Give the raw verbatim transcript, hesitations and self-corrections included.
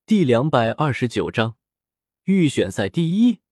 第两百二十九章预选赛第一。